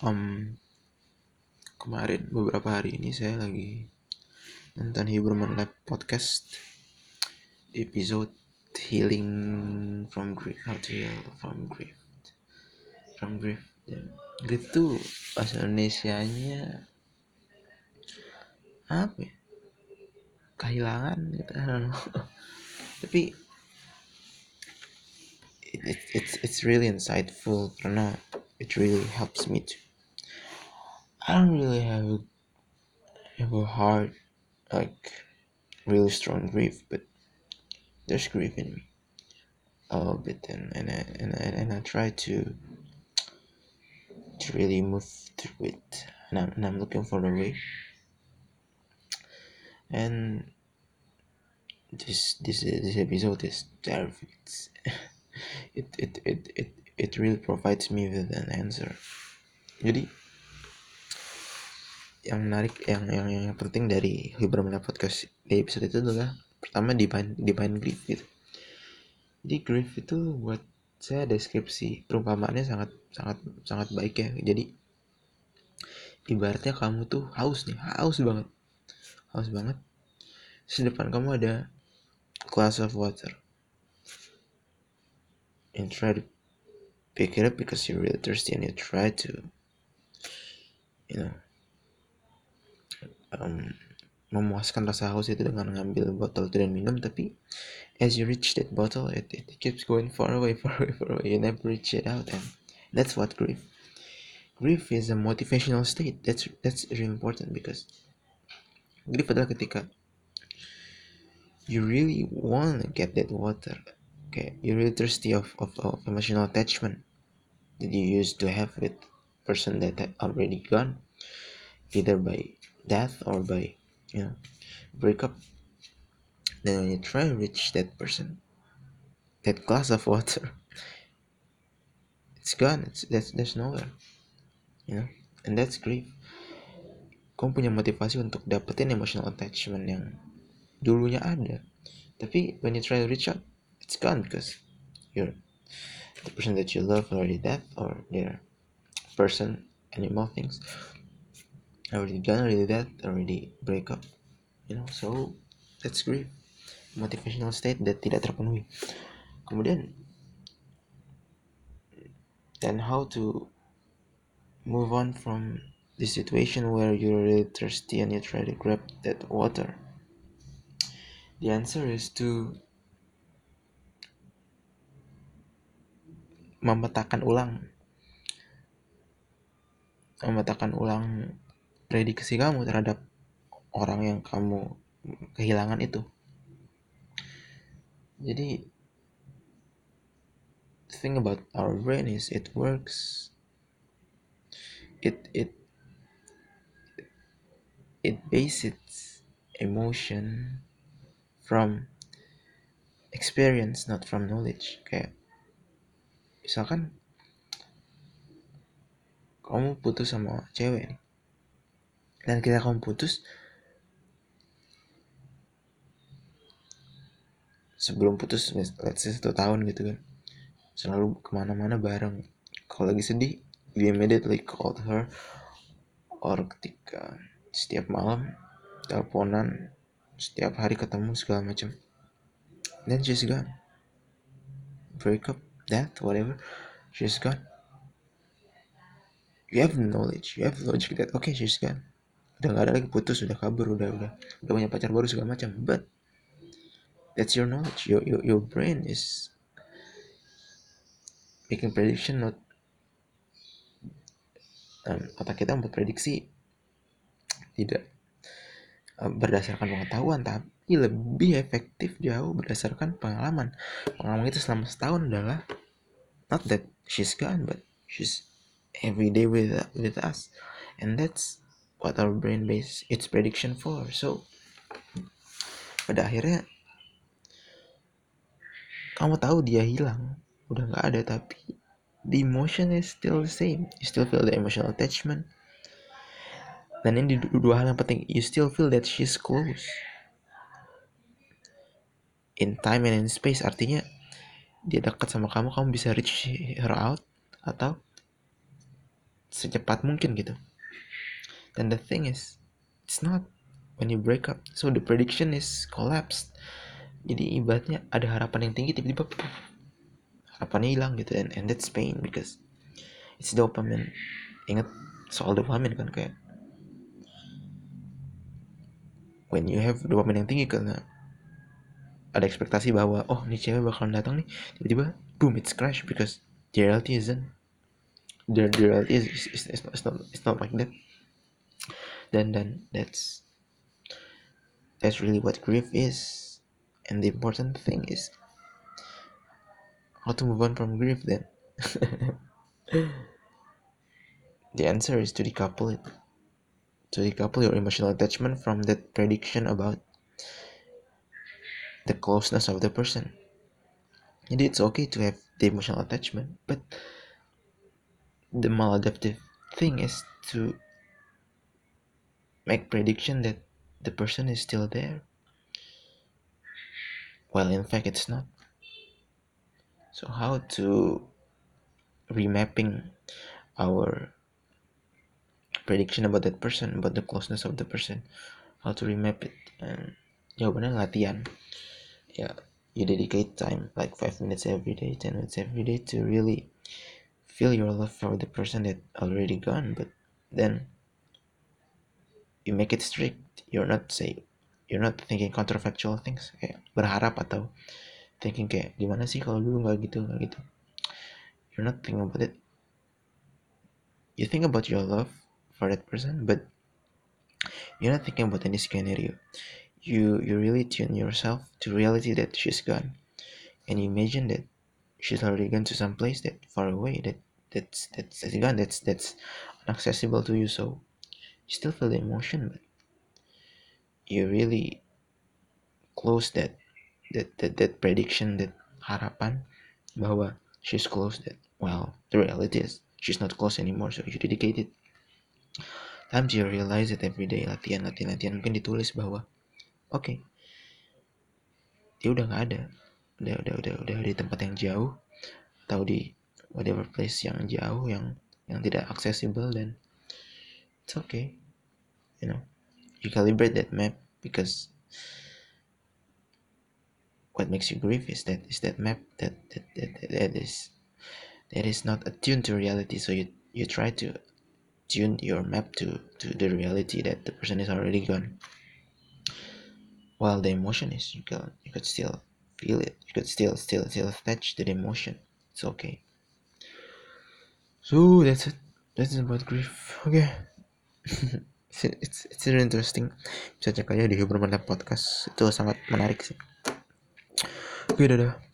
Kemarin beberapa hari ini saya lagi nonton Huberman Lab podcast episode Healing from Grief, How to Heal from Grief. Dan grief tuh bahasa Indonesianya apa ya? Kehilangan gitu, I don't know. Tapi it's really insightful karena it really helps me to. I don't really have a hard, like, really strong grief, but there's grief in me a little bit, and I try to really move through it, and I'm looking for the way. And this episode is terrific. It really provides me with an answer. Jadi yang menarik, yang penting dari Huberman Podcast di episode itu adalah pertama define grief gitu. Jadi grief itu buat saya deskripsi perumpamaannya sangat sangat sangat baik ya. Jadi ibaratnya kamu tuh haus banget. Terus di depan kamu ada glass of water, and try to pick it up because you're really thirsty, and you try to, you know, memuaskan rasa haus itu dengan ngambil botol itu dan minum. Tapi as you reach that bottle, it keeps going far away. You never reach it out, and that's what grief is a motivational state. That's really important, because grief adalah ketika you really want to get that water. Okay, you're really thirsty of emotional attachment that you used to have with person that had already gone, either by death or by, breakup. Then when you try to reach that person, that glass of water, it's gone. There's nowhere, you know, and that's grief. Kamu punya motivasi untuk dapetin emotional attachment yang dulunya ada, tapi when you try to reach out, it's gone because you're the person that you love already dead, or their person, animal, things already gone, already dead, already break up, so that's grief, motivational state that tidak terpenuhi. Kemudian, then how to move on from the situation where you're really thirsty and you try to grab that water? The answer is to memetakan ulang prediksi kamu terhadap orang yang kamu kehilangan itu. Jadi the thing about our brain is it works, it bases emotion from experience, not from knowledge. Kayak misalkan kamu putus sama cewek nih, dan ketika kamu putus, sebelum putus, let's say 1 tahun gitu kan, selalu kemana-mana bareng. Kalau lagi sedih, you immediately called her, or ketika setiap malam teleponan, setiap hari ketemu segala macam, then she's gone. Break up, death, whatever, she's gone. You have the knowledge, you have the logic that okay, she's gone, udah gak ada lagi, putus, udah kabur, udah punya pacar baru segala macam. But that's your knowledge. Your brain is making prediction, not otak kita membuat prediksi tidak berdasarkan pengetahuan, tapi lebih efektif jauh berdasarkan pengalaman. Pengalaman itu selama setahun adalah not that she's gone, but she's every day with us, and that's what our brain base its prediction for. So pada akhirnya kamu tahu dia hilang, udah nggak ada, tapi the emotion is still the same. You still feel the emotional attachment. Dan ini dua hal yang penting. You still feel that she's close in time and in space. Artinya dia dekat sama kamu bisa reach her out, atau secepat mungkin gitu. And the thing is, it's not when you break up, so the prediction is collapsed. Jadi ibaratnya ada harapan yang tinggi, tiba-tiba harapannya hilang gitu, and that's pain because it's dopamine. Ingat soal dopamine kan, kayak when you have dopamine yang tinggi karena ada ekspektasi bahwa oh ini cewek bakalan datang nih, tiba-tiba boom, it's crash because the reality isn't. The reality it's not like that. Then that's really what grief is, and the important thing is how to move on from grief. Then the answer is to decouple it, to decouple your emotional attachment from that prediction about the closeness of the person. And it's okay to have the emotional attachment, but the maladaptive thing is to make prediction that the person is still there, while in fact it's not. So how to remapping our prediction about that person, about the closeness of the person, how to remap it? And jawabannya latihan. Yeah, you dedicate time like 5 minutes every day, 10 minutes every day to really feel your love for the person that already gone. But then you make it strict. You're not thinking counterfactual things kayak berharap atau thinking kayak gimana sih kalau dulu nggak gitu. You're not thinking about it. You think about your love for that person, but you're not thinking about any scenario. You really tune yourself to reality that she's gone, and you imagine that she's already gone to some place that far away, that's gone, that's inaccessible to you. So you still feel the emotion, but you really close that prediction, that harapan bahwa she's close. That, well, the reality is she's not close anymore. So you dedicate it time to realize it every day. Latihan mungkin ditulis bahwa oke, dia udah nggak ada, udah di tempat yang jauh atau di whatever place yang jauh, yang tidak accessible. Dan it's okay, you know, you calibrate that map, because what makes you grieve is that map that is not attuned to reality. So you try to tune your map to the reality that the person is already gone, while the emotion is, you could still feel it, you could still attach to the emotion. It's okay. So that's it. That's about grief. Okay. It's really interesting. Bisa cek aja di Humor Mantap Podcast, itu sangat menarik sih. Oke, dadah.